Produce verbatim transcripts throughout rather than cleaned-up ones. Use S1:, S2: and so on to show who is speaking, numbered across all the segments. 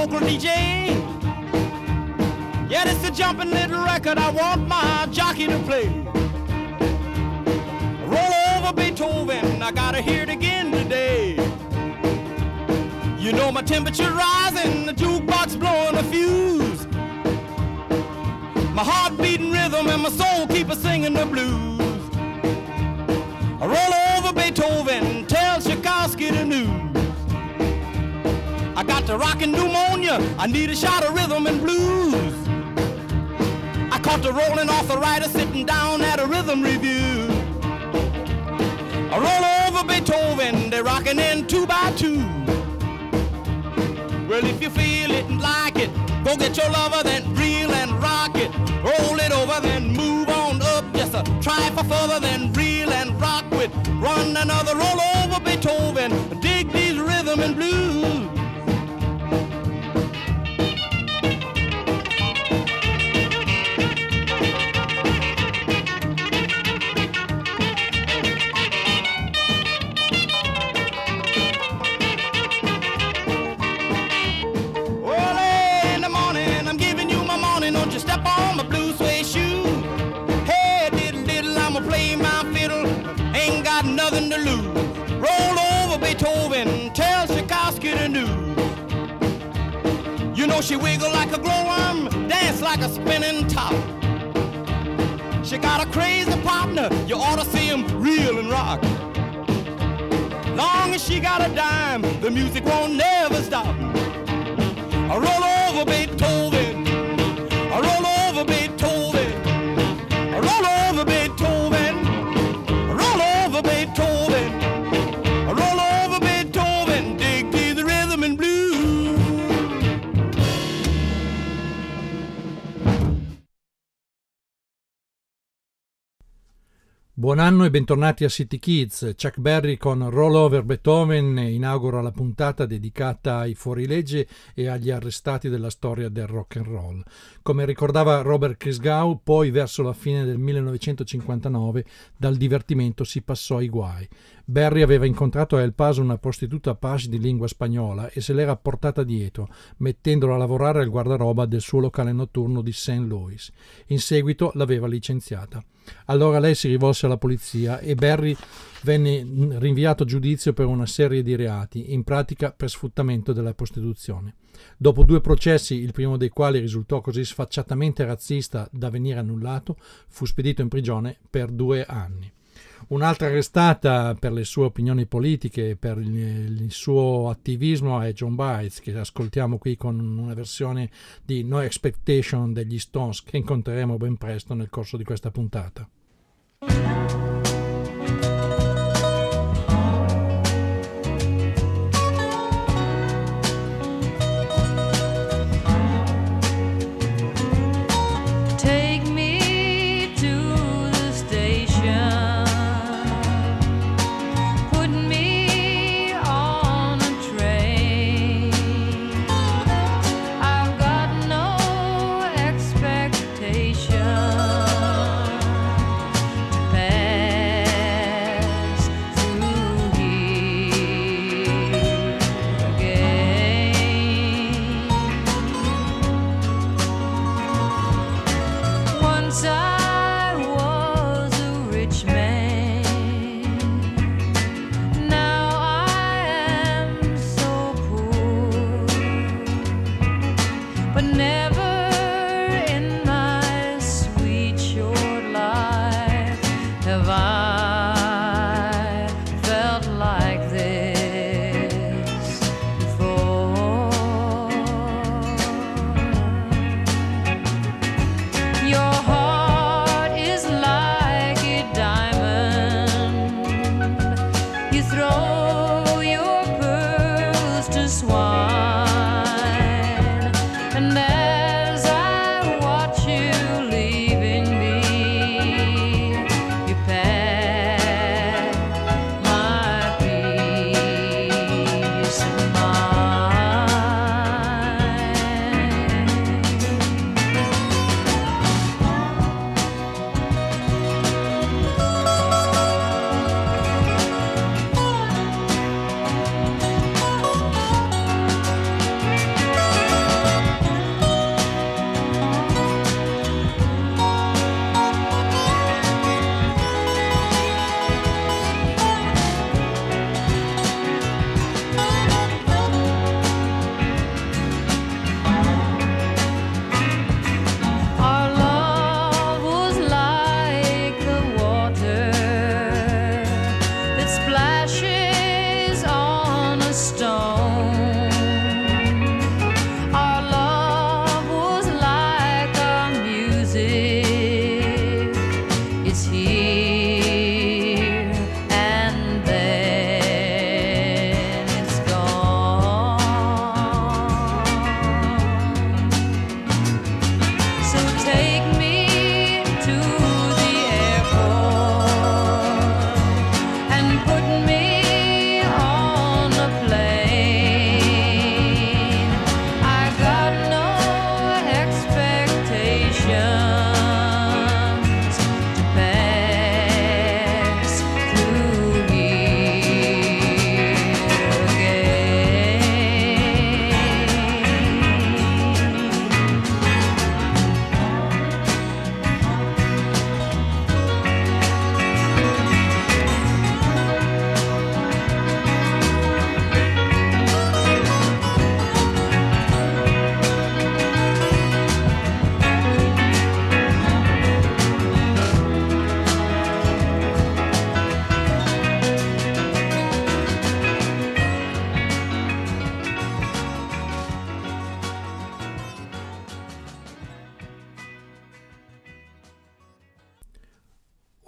S1: local D J. Yeah, this is a jumping little record I want my jockey to play. Roll over Beethoven, I gotta hear it again today. You know my temperature rising, the jukebox blowing a fuse. My heart beating rhythm and my soul keep a singing the blues. I roll over Beethoven, tell Tchaikovsky the news. I got the rockin' pneumonia, I need a shot of rhythm and blues. I caught the rolling arthritis sitting down at a rhythm review. I roll over Beethoven, they're rockin' in two by two. Well, if you feel it and like it, go get your lover, then reel and rock it. Roll it over, then move on up. Just a try for further, then reel and rock with. Run another roll over Beethoven. Dig these rhythm and blues. Nothing to lose. Roll over Beethoven, tell Tchaikovsky the news. You know she wiggle like a glowworm, dance like a spinning top. She got a crazy partner, you ought to see him reel and rock. Long as she got a dime, the music won't never stop. I roll over Beethoven, I roll over Beethoven, I roll over Beethoven, I roll over Beethoven, I roll over Beethoven, dig to the rhythm and blues.
S2: Buon anno e bentornati a City Kids. Chuck Berry con Roll Over Beethoven inaugura la puntata dedicata ai fuorilegge e agli arrestati della storia del rock and roll. Come ricordava Robert Christgau, poi verso la fine del millenovecentocinquantanove dal divertimento si passò ai guai. Berry aveva incontrato a El Paso una prostituta page di lingua spagnola e se l'era portata dietro, mettendola a lavorare al guardaroba del suo locale notturno di Saint Louis. In seguito l'aveva licenziata. Allora lei si rivolse alla polizia e Berry venne rinviato a giudizio per una serie di reati, in pratica per sfruttamento della prostituzione. Dopo due processi, il primo dei quali risultò così sfacciatamente razzista da venire annullato, fu spedito in prigione per due anni. Un'altra arrestata per le sue opinioni politiche e per il, il suo attivismo è Joan Baez, che ascoltiamo qui con una versione di No Expectation degli Stones che incontreremo ben presto nel corso di questa puntata.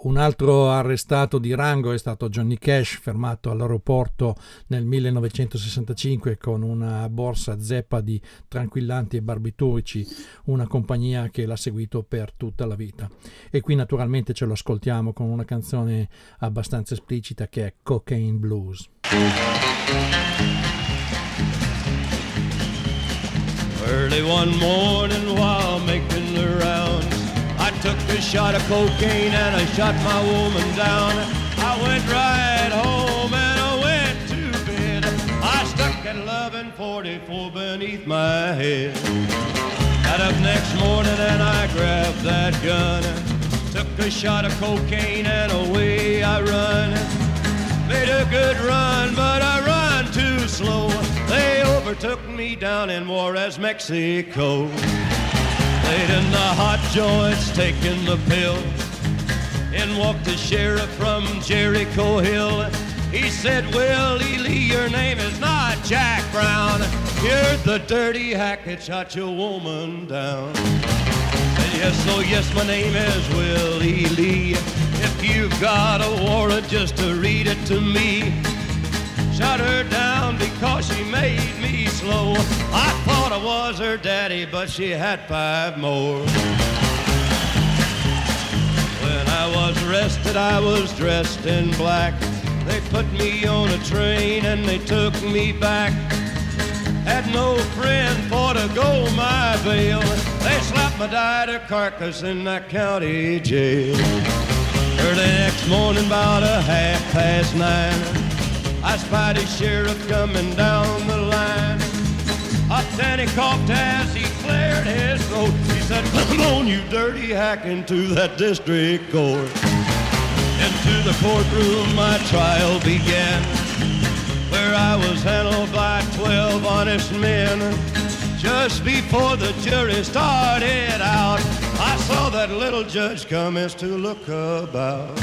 S2: Un altro arrestato di rango è stato Johnny Cash, fermato all'aeroporto nel millenovecentosessantacinque con una borsa zeppa di tranquillanti e barbiturici, una compagnia che l'ha seguito per tutta la vita. E qui naturalmente ce lo ascoltiamo con una canzone abbastanza esplicita che è Cocaine Blues.
S1: Early one morning while making the rounds, I took a shot of cocaine and I shot my woman down. I went right home and I went to bed. I stuck at eleven forty-four beneath my head. Got up next morning and I grabbed that gun. Took a shot of cocaine and away I run. Made a good run, but I run too slow. They overtook me down in Juarez, Mexico. Laid in the hot joints, taking the pill. In walked the sheriff from Jericho Hill. He said, Willie Lee, your name is not Jack Brown. You're the dirty hack that shot your woman down. Said, yes, oh yes, my name is Willie Lee. If you've got a warrant, just to read it to me. Shot her down because she made me slow. I thought I was her daddy, but she had five more. When I was arrested, I was dressed in black. They put me on a train and they took me back. Had no friend for to go my bail. They slapped my died carcass in that county jail. Early next morning, about a half past nine, I spied a sheriff coming down the line. Up then he coughed as he cleared his throat. He said, come on, you dirty hack, into that district court. Into the courtroom my trial began, where I was handled by twelve honest men. Just before the jury started out, I saw that little judge commence to look about.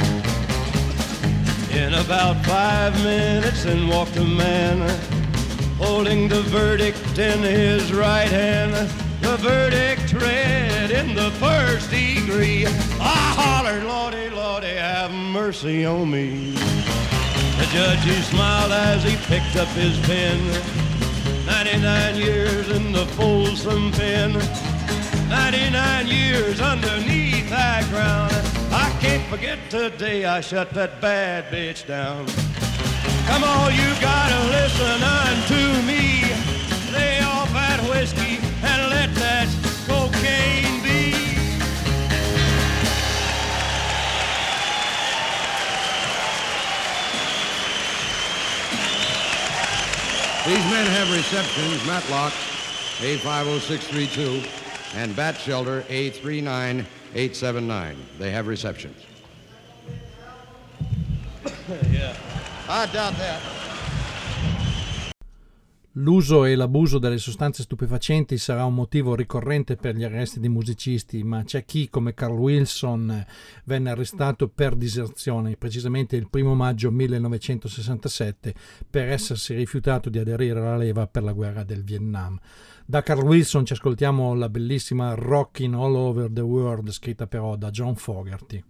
S1: In about five minutes in walked a man, holding the verdict in his right hand. The verdict read in the first degree. I hollered, Lordy, Lordy, have mercy on me. The judge, he smiled as he picked up his pen. ninety-nine years in the Folsom pen. ninety-nine years underneath that ground. I can't forget today I shut that bad bitch down. Come on, you gotta listen unto me. Lay off that whiskey and let that cocaine be.
S3: These men have receptions, Matlock, A five oh six three two, and Bat Shelter, A three nine eight seven nine. They have receptions.
S1: Yeah.
S3: I doubt that.
S2: L'uso e l'abuso delle sostanze stupefacenti sarà un motivo ricorrente per gli arresti di musicisti, ma c'è chi, come Carl Wilson, venne arrestato per diserzione, precisamente il primo maggio millenovecentosessantasette, per essersi rifiutato di aderire alla leva per la guerra del Vietnam. Da Carl Wilson ci ascoltiamo la bellissima Rockin' All Over the World, scritta però da John Fogerty.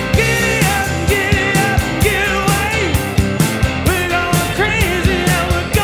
S4: Crazy and we're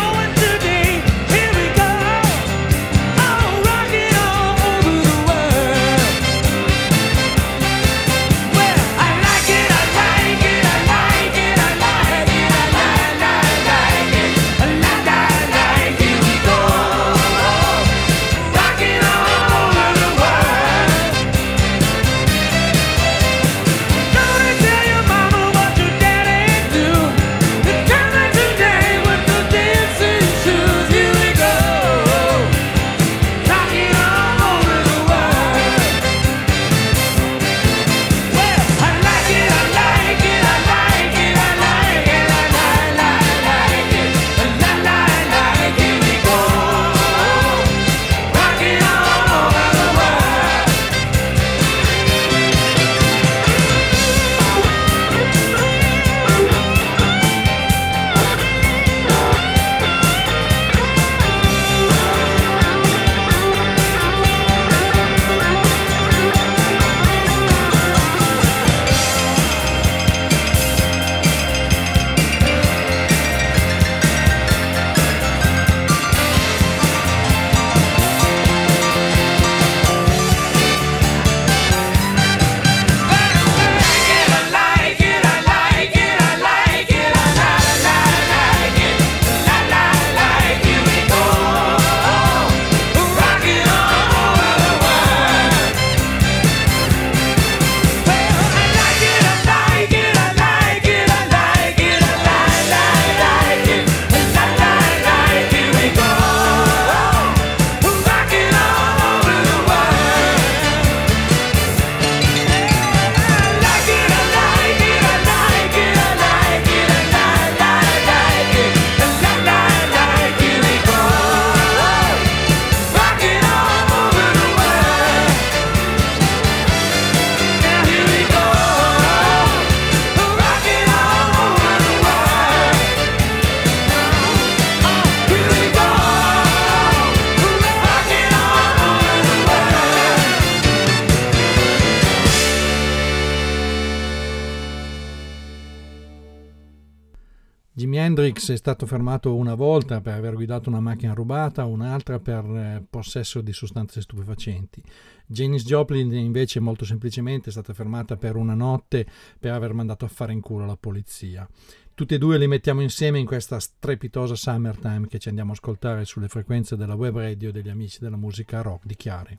S2: Hendrix è stato fermato una volta per aver guidato una macchina rubata, un'altra per eh, possesso di sostanze stupefacenti. Janis Joplin invece molto semplicemente è stata fermata per una notte per aver mandato a fare in culo la polizia. Tutti e due li mettiamo insieme in questa strepitosa Summertime che ci andiamo a ascoltare sulle frequenze della web radio degli amici della musica rock di Chiari.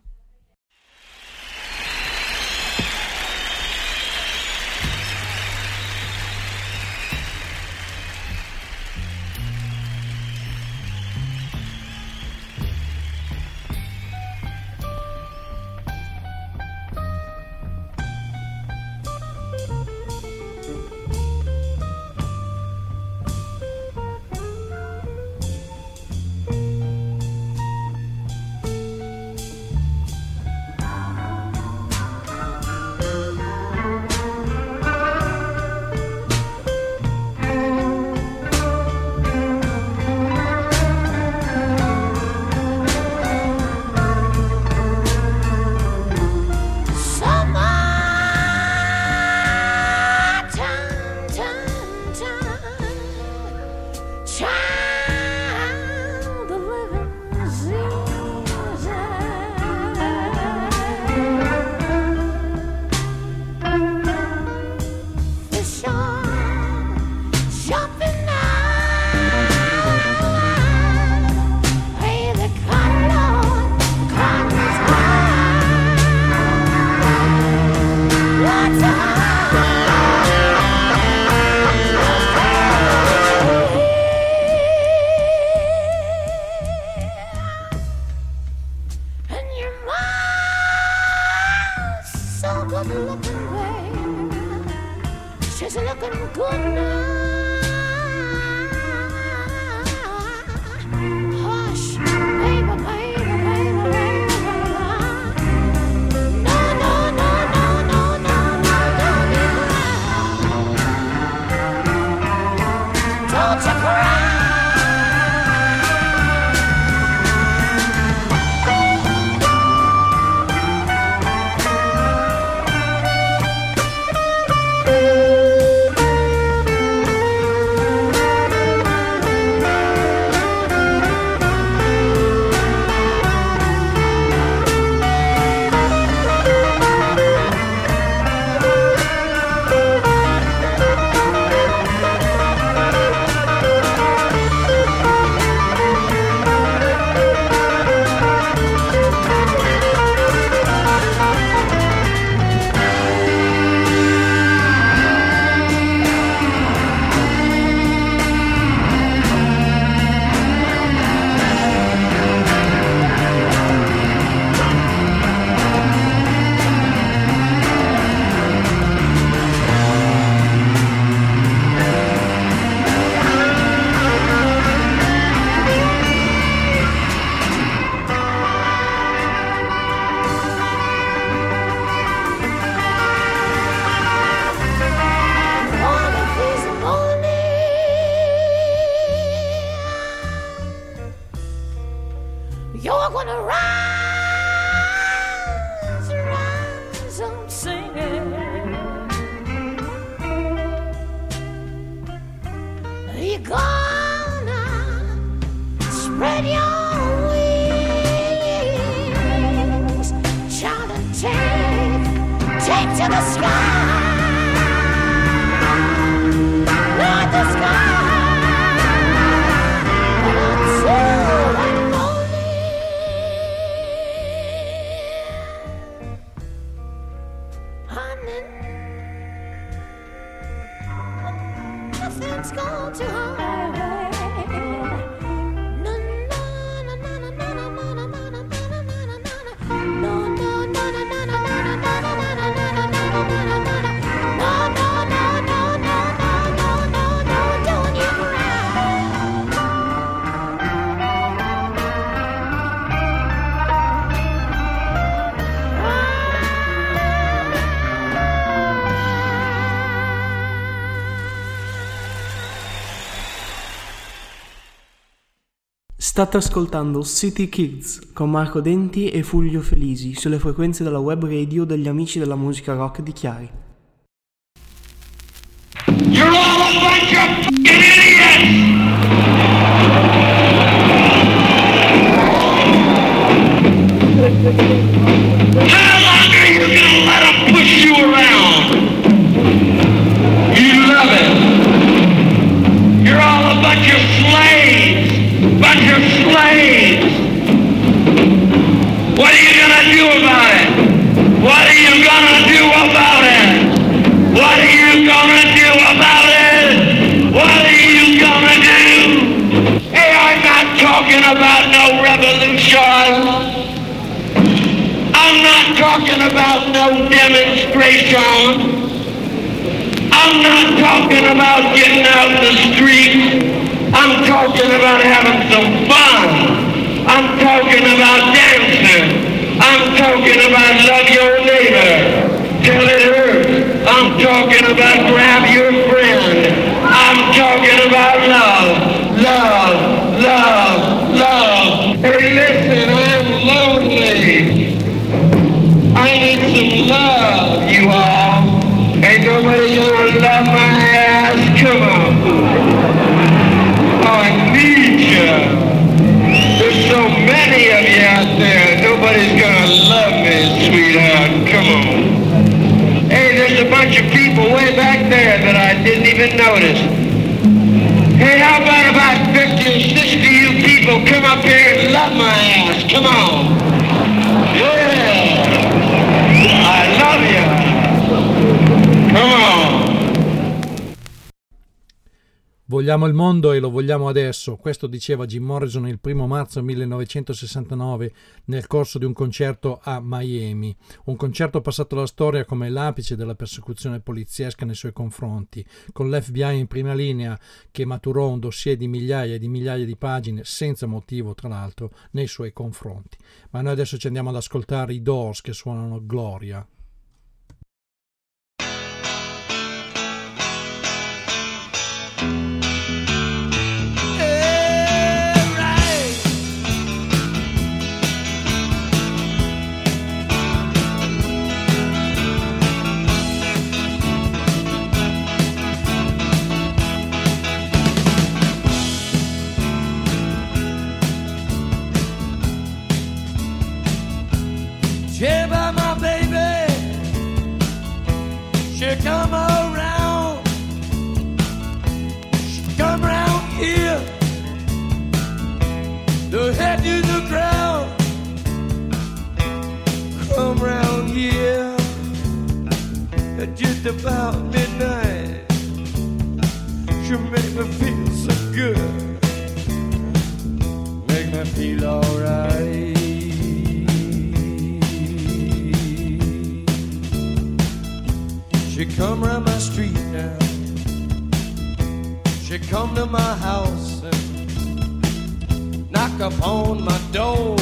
S4: State ascoltando City Kids con Marco Denti e Fulvio Felisi sulle frequenze della web radio degli amici della musica rock di Chiari.
S5: You're all a bunch of idiots! How long are you gonna let them push you around? You love it. You're all a bunch of slaves. Bunch of slaves. What are you gonna do about it? What are you gonna do about it? What are you gonna do about it? What are you gonna do? Hey, I'm not talking about no revolution. I'm not talking about no demonstration. I'm not talking about getting out in the streets. I'm talking about having some fun. I'm talking about dancing. I'm talking about love your neighbor till it hurts. I'm talking about grab your friend. I'm talking about love, love, love, love. Hey, listen, I'm lonely. I need some love, you all. Ain't nobody gonna love my ass. Come on. Oh, I need you. There's so many of you out there. Nobody's gonna love me, sweetheart. Come on. Hey, there's a bunch of people way back there that I didn't even notice. Hey, how about about fifty or sixty of you people come up here and love my ass? Come on. Yeah. I love you. Come on.
S2: Vogliamo il mondo e lo vogliamo adesso, questo diceva Jim Morrison il primo marzo millenovecentosessantanove nel corso di un concerto a Miami, un concerto passato alla storia come l'apice della persecuzione poliziesca nei suoi confronti, con l'F B I in prima linea che maturò un dossier di migliaia e di migliaia di pagine, senza motivo tra l'altro, nei suoi confronti. Ma noi adesso ci andiamo ad ascoltare i Doors che suonano Gloria.
S1: Yeah, by my baby, she come around, she come around here, the head to the ground, come around here, at just about midnight, she make me feel so good, make me feel alright. She come round my street now, she come to my house and knock upon my door,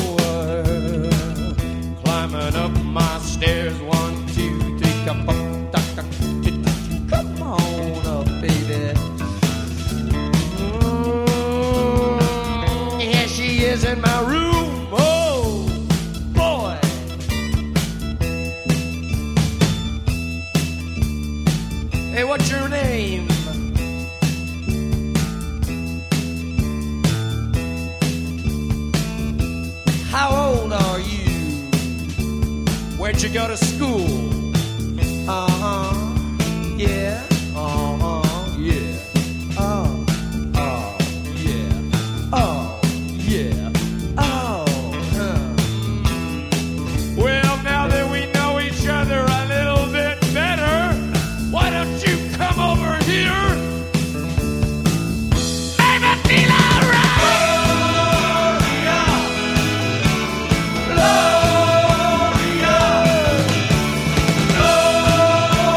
S1: climbing up my stairs, one, two, three, come on, come on up, baby. Mm, here she is in my room, oh boy. Hey, what's your name? How old are you? Where'd you go to school? Uh-huh, yeah, uh-huh, yeah, oh, oh, yeah, oh, yeah, oh, huh. Well, now that we know each other a little bit better, why don't you come over here? Make me feel alright. Gloria, Gloria,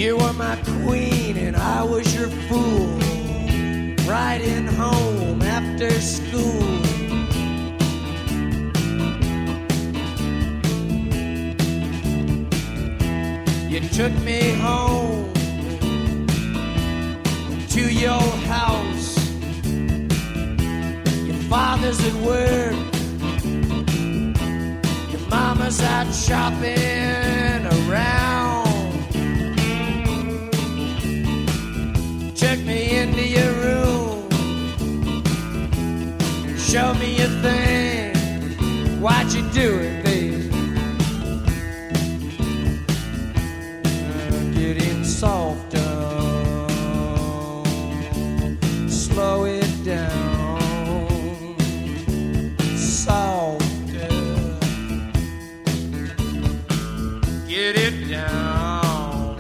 S6: You were my queen and I was your fool, riding home after school. You took me home to your house. Your father's at work, your mama's out shopping around. Took me into your room, show me your thing. Why'd you do it, baby? Uh, getting softer, slow it down, softer, get it down.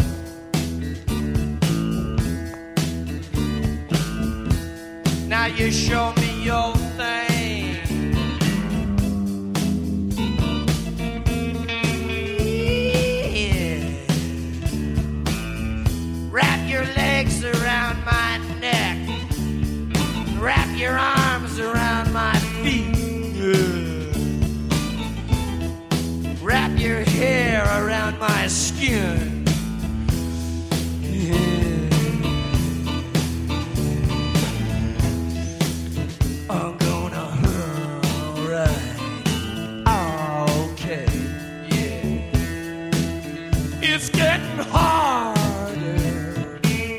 S6: Now you show me your thing. Yeah. Wrap your legs around my neck, wrap your arms around my feet. Yeah. Wrap your hair around my skin. Yeah. I'm gonna hurt, right? Okay, yeah. It's getting harder.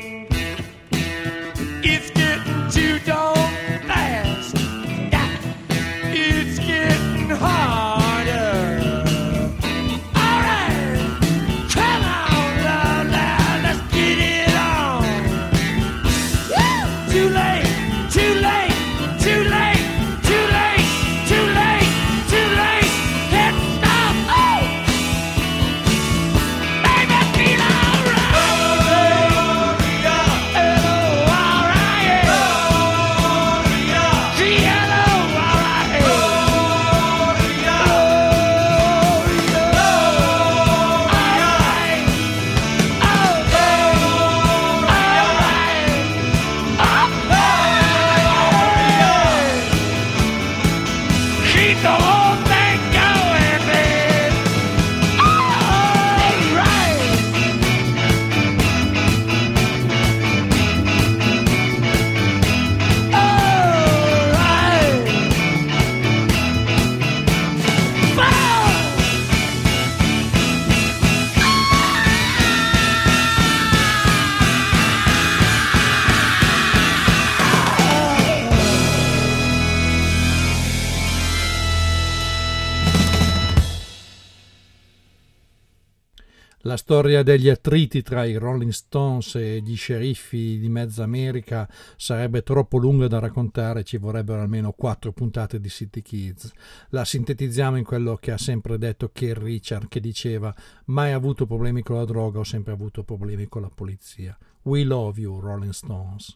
S6: It's getting too darn fast. Yeah. It's getting harder. All right, come on, love, now let's get it on. Woo! Too late, too late. Too late, too late, too late, too late. Can't stop. Oh, baby, feel alright. Oh, yeah. Oh, alright. Oh, yeah. Hello, alright. Oh, yeah. Oh, yeah. Alright. Oh, alright. Keep the whole thing going, man. All right. All right. Bow.
S2: La storia degli attriti tra i Rolling Stones e gli sceriffi di mezza America sarebbe troppo lunga da raccontare, ci vorrebbero almeno quattro puntate di City Kids. La sintetizziamo in quello che ha sempre detto Keith Richards, che diceva: mai avuto problemi con la droga, ho sempre avuto problemi con la polizia. We love you, Rolling Stones.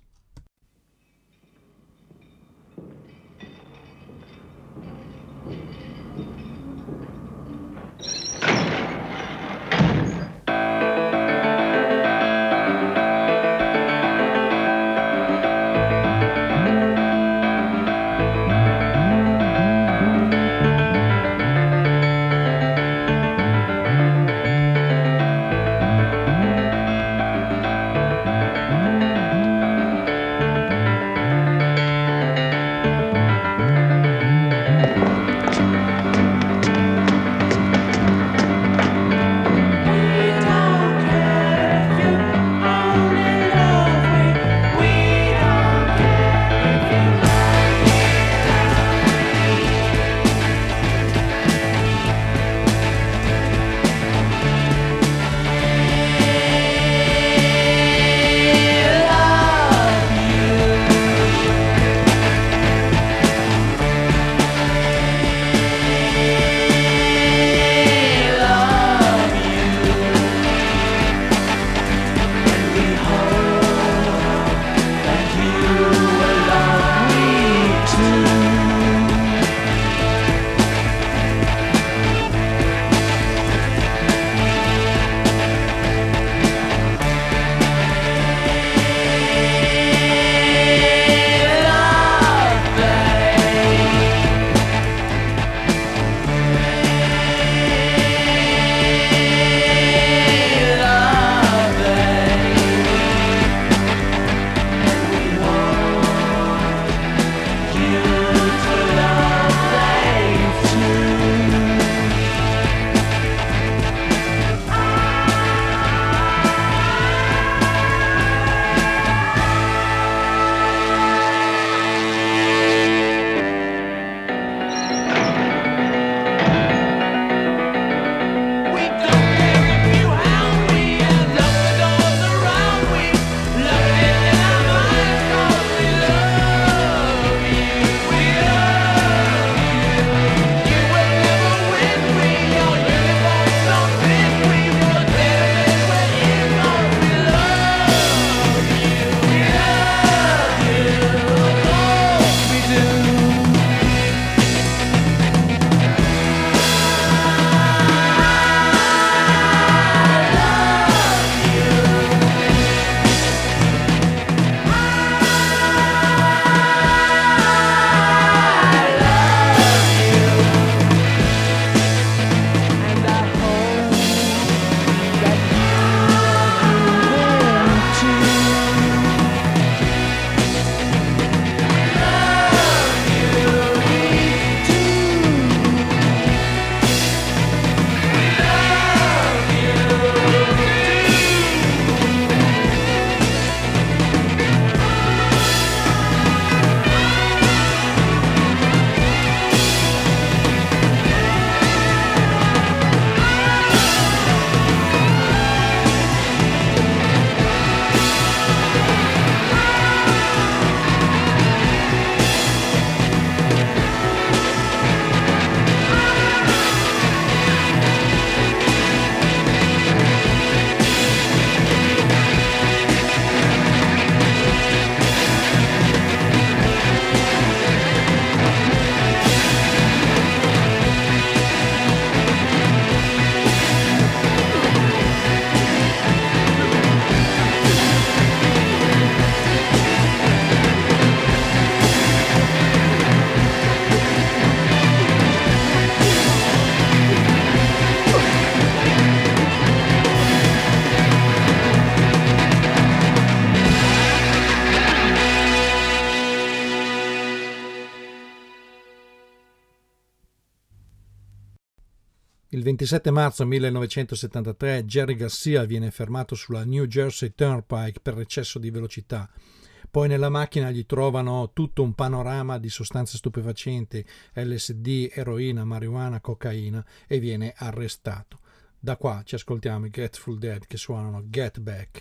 S2: Il ventisette marzo millenovecentosettantatré Jerry Garcia viene fermato sulla New Jersey Turnpike per eccesso di velocità. Poi nella macchina gli trovano tutto un panorama di sostanze stupefacenti, L S D, eroina, marijuana, cocaina, e viene arrestato. Da qua ci ascoltiamo i Grateful Dead che suonano Get Back.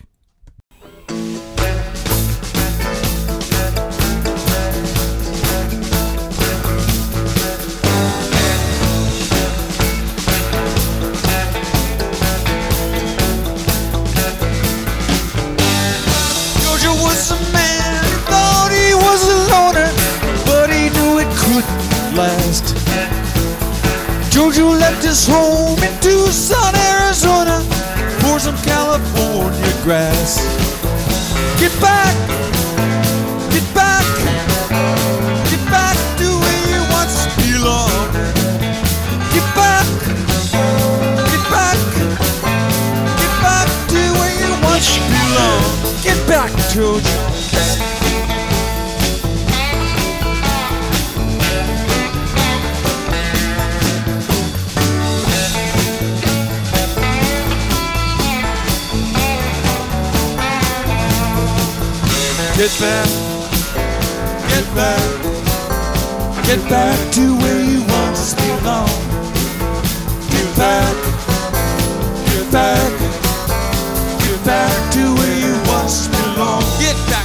S6: Was a man who thought he was a loner, but he knew it couldn't last. Jojo left his home in Tucson, Arizona, for some California grass. Get back, get back, get back to where you once belonged. Get back, get back, get back to where you once belonged. Get back, Jojo. Get back, get back, get back to where you once belonged. Get back, get back, get back to where you once belonged. Get back.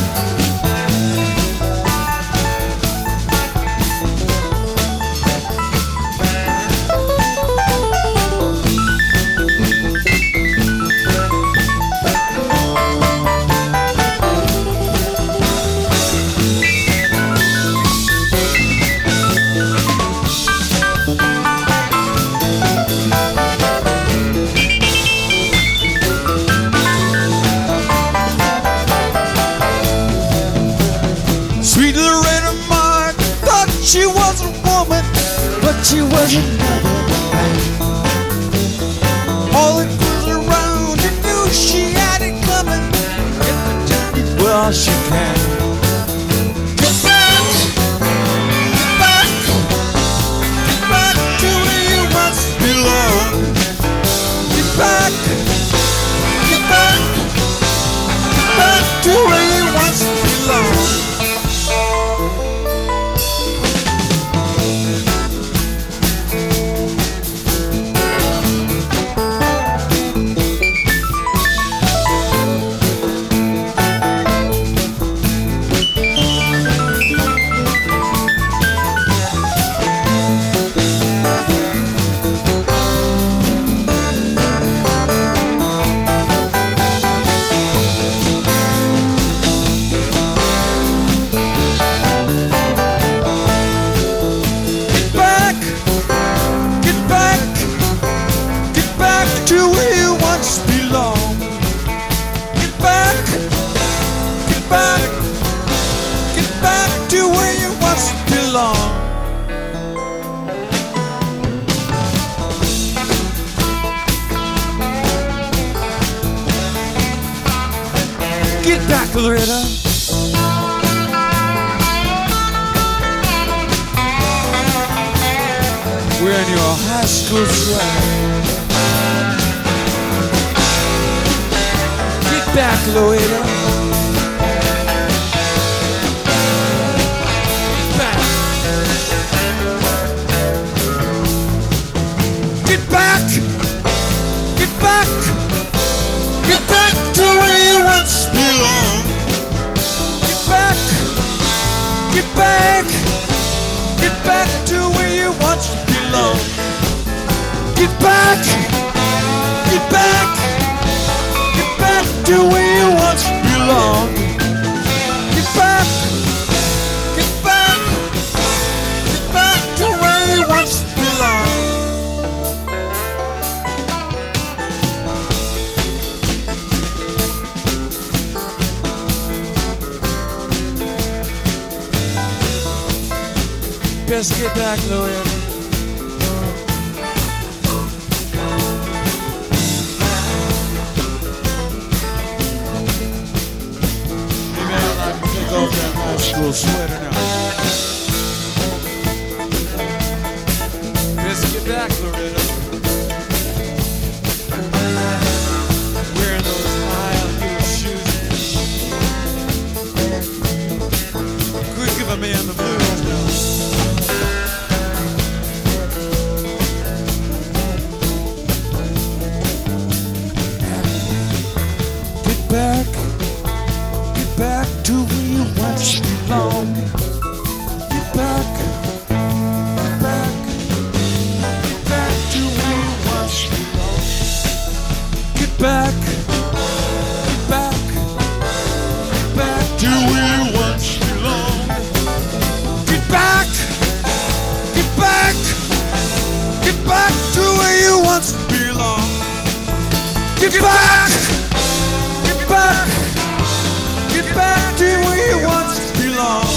S6: She was a woman, but she was another man. All the girls around her knew she had it coming. If the journey well she can. Get back, get back, get back to where you once belonged. Get back, get back, get back to where you once belonged. Get back, Loretta. Wearing your high school swag. Get back, Loretta. Get back. Get back. Get back to where you once belonged. Get back. Get back. Get back to where you once belonged. Get back. Get back. Get back to where you once belonged. Get back. Get back. Get back to where you once belonged. Best get back, Loretta. You better not take off that high school sweater now. Best get back, Loretta. Get back! Get back! Get back to where you once belonged.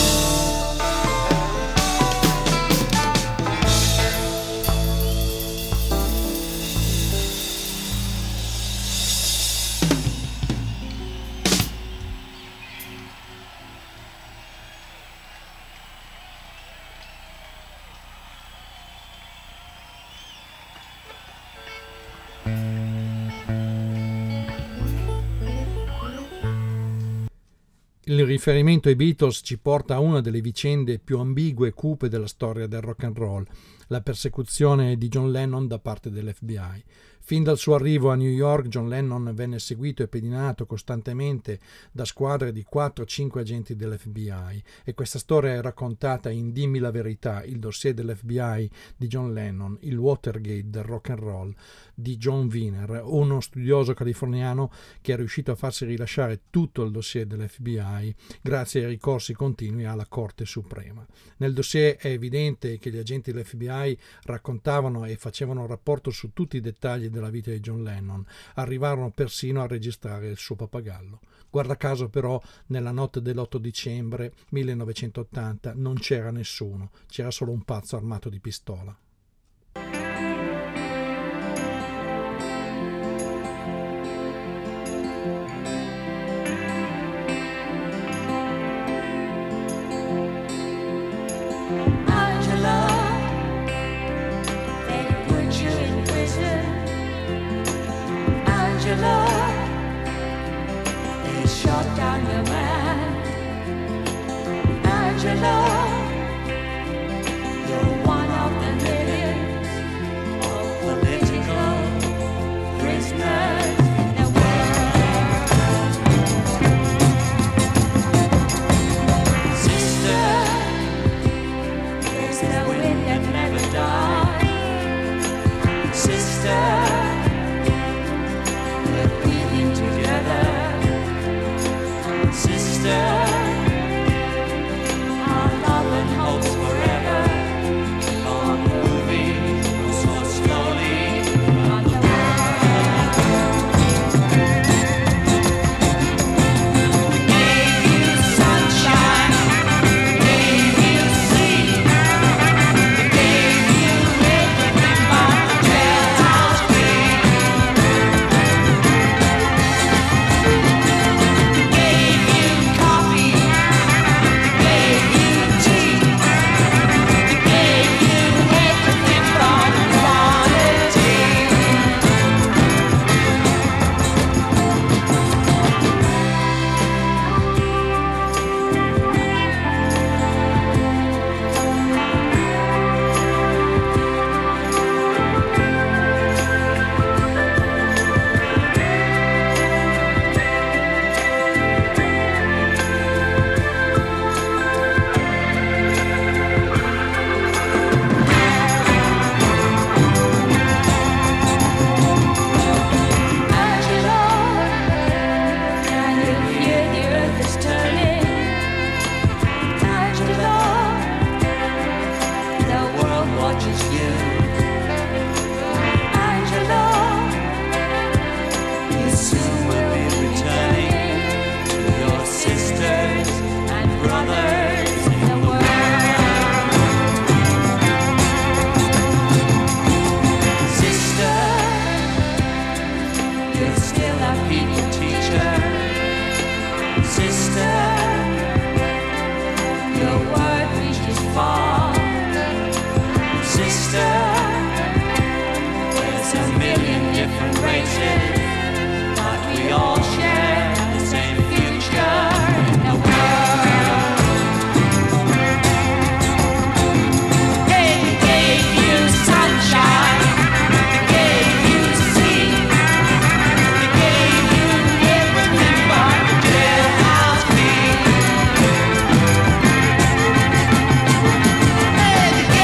S2: Il riferimento ai Beatles ci porta a una delle vicende più ambigue e cupe della storia del rock and roll, la persecuzione di John Lennon da parte dell'F B I. Fin dal suo arrivo a New York, John Lennon venne seguito e pedinato costantemente da squadre di quattro cinque agenti dell'F B I, e questa storia è raccontata in Dimmi la verità, il dossier dell'F B I di John Lennon, il Watergate del rock and roll di John Wiener, uno studioso californiano che è riuscito a farsi rilasciare tutto il dossier dell'F B I grazie ai ricorsi continui alla Corte Suprema. Nel dossier è evidente che gli agenti dell'F B I raccontavano e facevano rapporto su tutti i dettagli della vita di John Lennon, arrivarono persino a registrare il suo pappagallo. Guarda caso però, nella notte dell'otto dicembre millenovecentottanta non c'era nessuno, c'era solo un pazzo armato di pistola.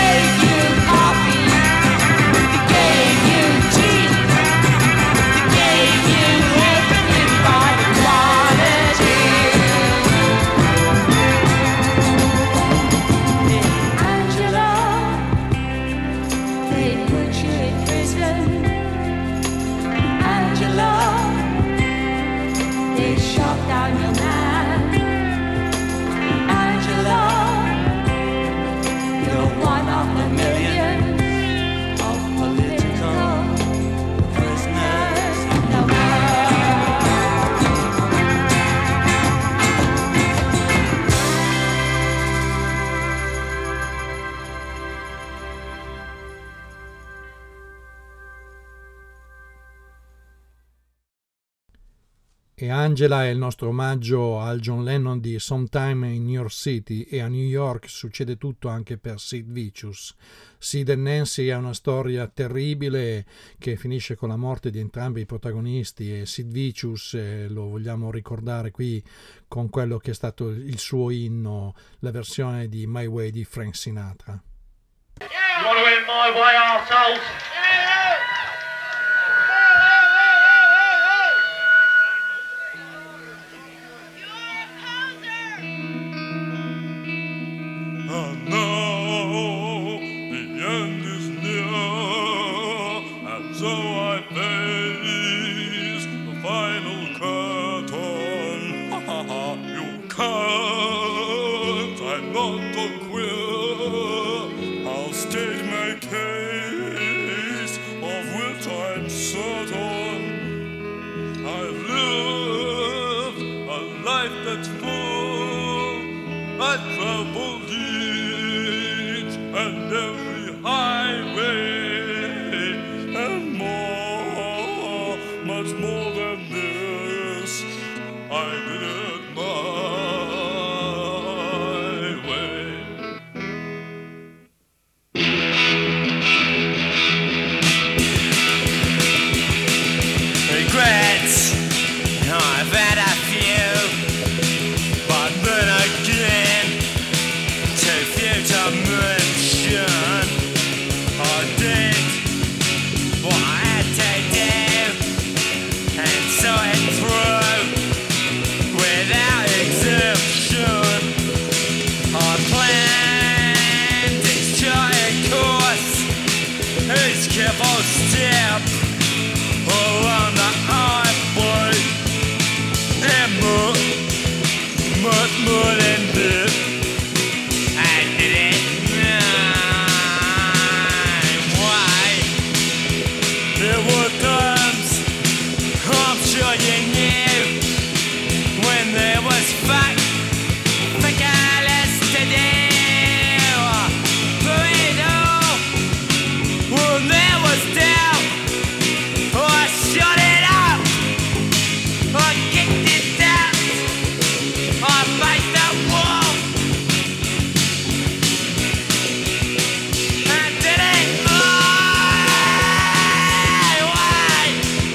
S7: Yeah.
S2: E Angela è il nostro omaggio al John Lennon di Sometime in New York City, e a New York succede tutto anche per Sid Vicious. Sid e Nancy è una storia terribile che finisce con la morte di entrambi i protagonisti, e Sid Vicious eh, lo vogliamo ricordare qui con quello che è stato il suo inno, la versione di My Way di Frank Sinatra.
S5: You want to win my way, arseholes?
S6: And now the end is near, and so I face the final curtain. Ha ha ha, you can't, I'm not a queer. I'll state my case, of which I'm certain. I've lived a life that's full, I traveled each and every highway, and more, much more than this, I did it my way.
S5: Regrets, I've had a few, but then again, too few to mention. I did what I had to do, and saw it through without exemption. I planned each charted course, each careful step along the highway, and more, much more than this. I did it my way. There were times, I'm sure you knew, when there was fight, regardless to do. Through it all, when there was doubt, I shut it up, I kicked it down, I faced the wall, I did it my way.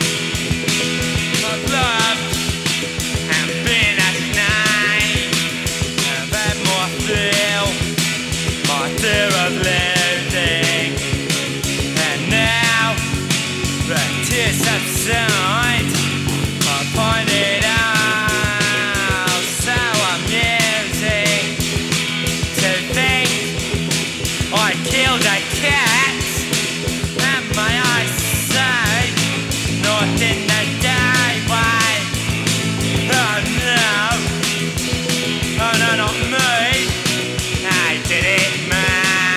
S5: I've loved and been a snake, I've had more feel, my fear of losing, and now the tears subside, I find it all so amusing to think I killed a cat, and my eyes say not in the daylight. Oh no, oh no, not me, I did it my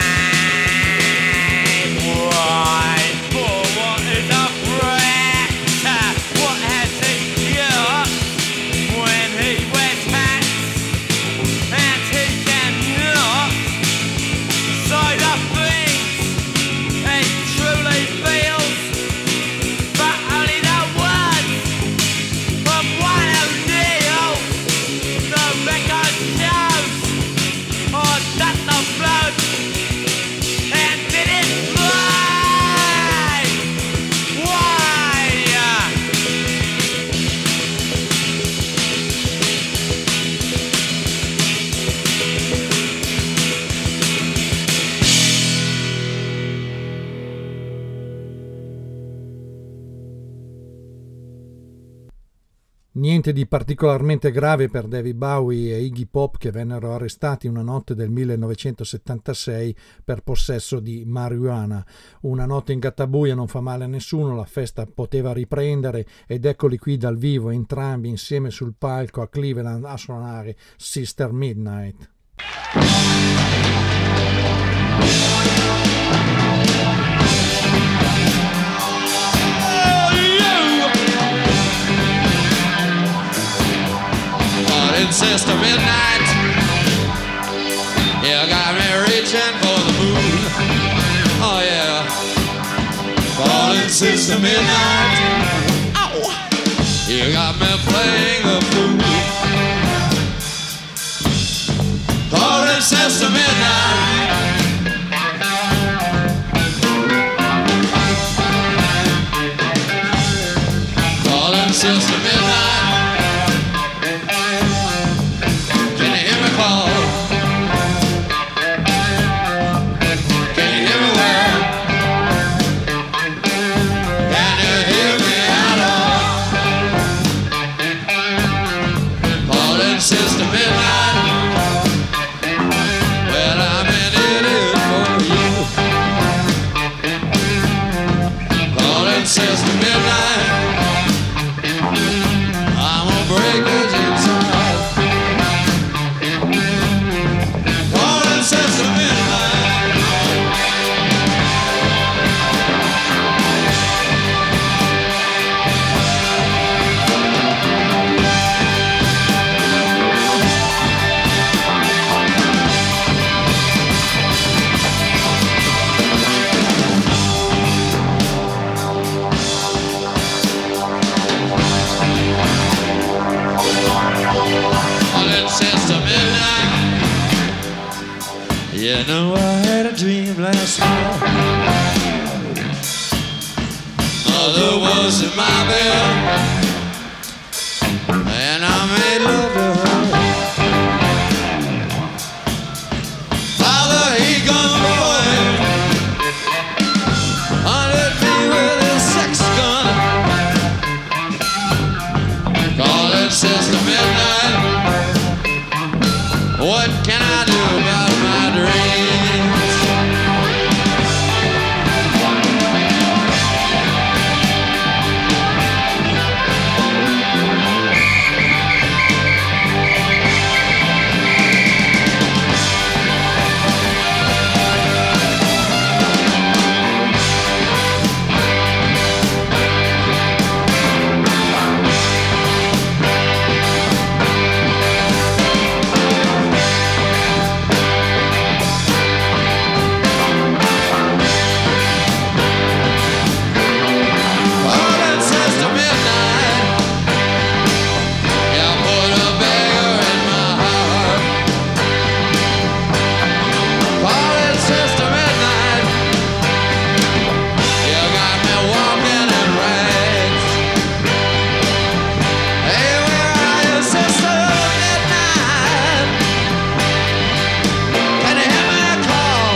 S5: way. For what is a brat? What has he got when he wears hats, and he cannot say the things he truly feels, but only the words of one who kneels. The record shows, oh, that the blood and did it my way.
S2: Niente di particolarmente grave per David Bowie e Iggy Pop, che vennero arrestati una notte del millenovecentosettantasei per possesso di marijuana. Una notte in gattabuia non fa male a nessuno, la festa poteva riprendere, ed eccoli qui dal vivo entrambi insieme sul palco a Cleveland a suonare Sister Midnight.
S7: Falling Sister Midnight, you got me reaching for the moon. Oh yeah, Falling Sister Midnight, ow. You got me playing the fool. Calling Sister Midnight. Calling Sister Midnight. Can you hear me call? Can you hear me well? Can you hear me at all? Calling Sister Midnight. Well, I'm an idiot for you. Calling Sister Midnight. I'm gonna break his inside. Calling Sister Midnight. Calling Sister Midnight. You know I had a dream last night. Mother was in my bed, and I made love to her. Father, he gone away, hunted me with his sex gun. Calling Sister Midnight. What can I do about my dreams? Calling Sister Midnight. You put a beggar in my heart. Calling Sister Midnight. You got me walking in rags. Hey, where are you, Sister Midnight? Can you hear me call?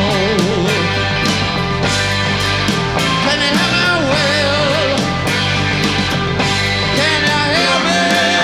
S7: Can you hear me wail? Can you hear me?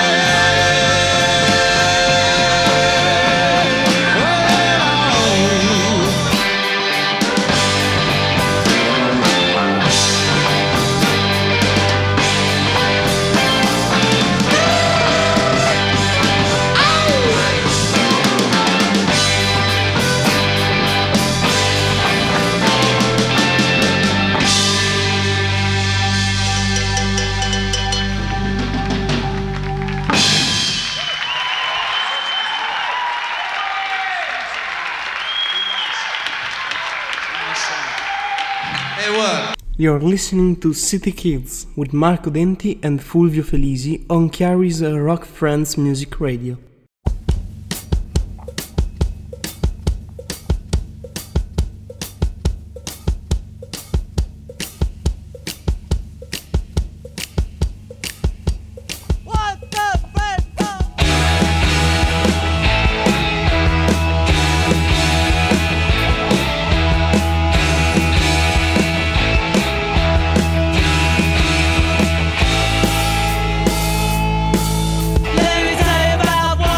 S7: Hey, what?
S4: You're listening to City Kids with Marco Denti and Fulvio Felisi on Chiari's Rock Friends Music Radio.
S6: Let me tell you about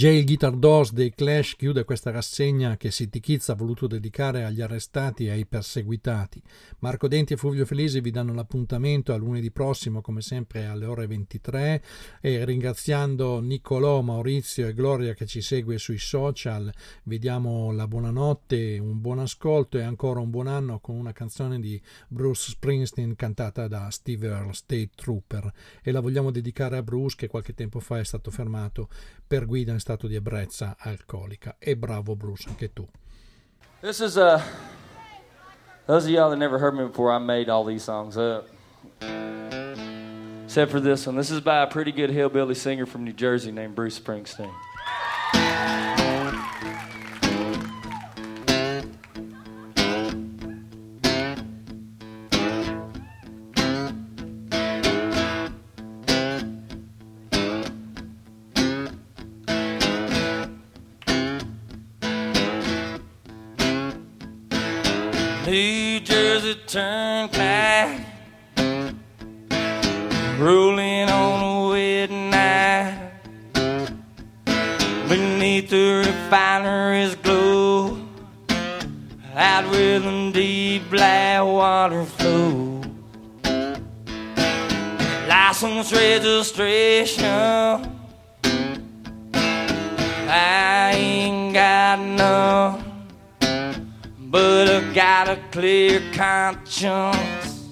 S2: Jail Guitar Doors dei Clash chiude questa rassegna che City Kids ha voluto dedicare agli arrestati e ai perseguitati. Marco Denti e Fulvio Felisi vi danno l'appuntamento a lunedì prossimo, come sempre alle ore ventitré, e ringraziando Niccolò, Maurizio e Gloria che ci segue sui social, vi diamo la buonanotte, un buon ascolto e ancora un buon anno con una canzone di Bruce Springsteen cantata da Steve Earle, State Trooper, e la vogliamo dedicare a Bruce che qualche tempo fa è stato fermato per guida in stato di ebbrezza alcolica. E bravo Bruce, anche tu.
S8: This is uh those of y'all that never heard me before, I made all these songs up, except for this one. This is by a pretty good hillbilly singer from New Jersey named Bruce Springsteen. New Jersey Turnpike, rolling on a wet night, beneath the refinery's glow, out where the deep black water flows. License registration, I ain't got none, but I got a clear conscience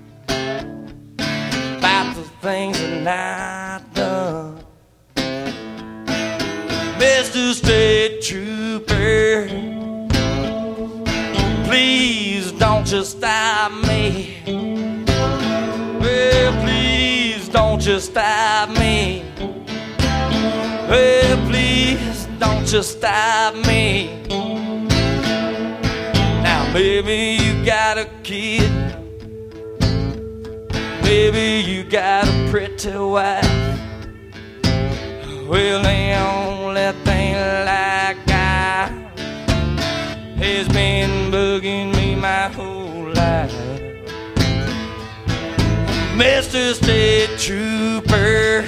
S8: about the things that I've done. Mister State Trooper, please don't just stop me. Well, please don't just stop me. Well, please don't just stop me. Maybe you got a kid, maybe you got a pretty wife. Well, the only thing like I has been bugging me my whole life. Mister State Trooper,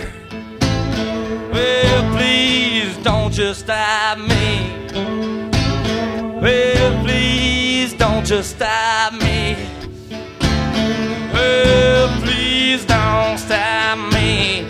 S8: well, please don't just stop me. Well, please don't just stop me. Well, please don't stop me.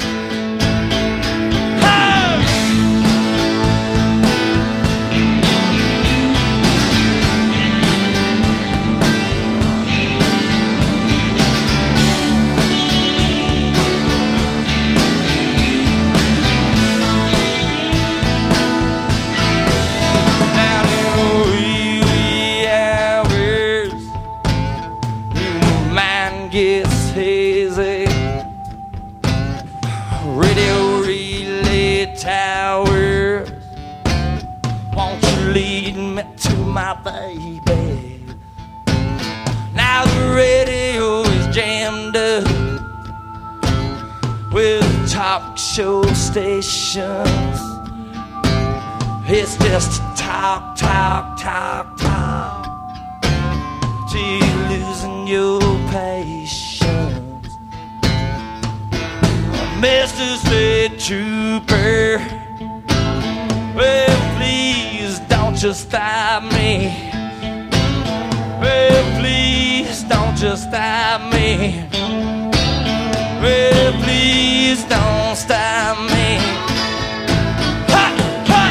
S8: Gets hazy, radio relay towers, won't you lead me to my baby? Now the radio is jammed up with talk show stations. It's just talk, talk, talk, talk till you're losing your patience. Mister State Trooper, well, please don't just stop me. Well, please don't just stop me. Well, please don't stop me. Ha! Ha!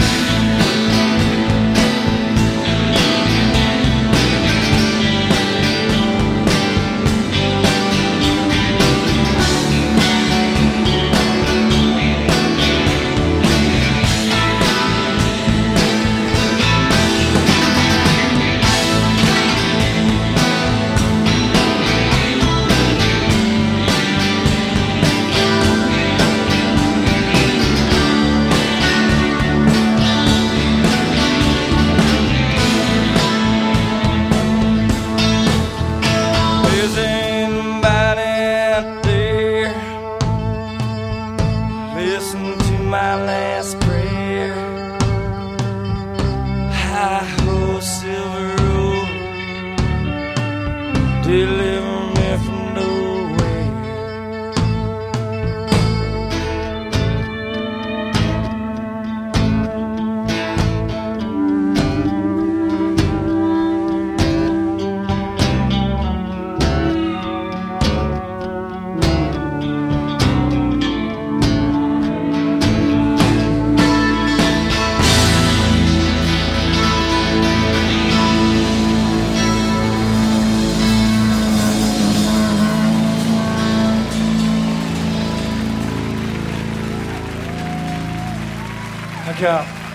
S8: Deliver me from nowhere.
S9: Thank you.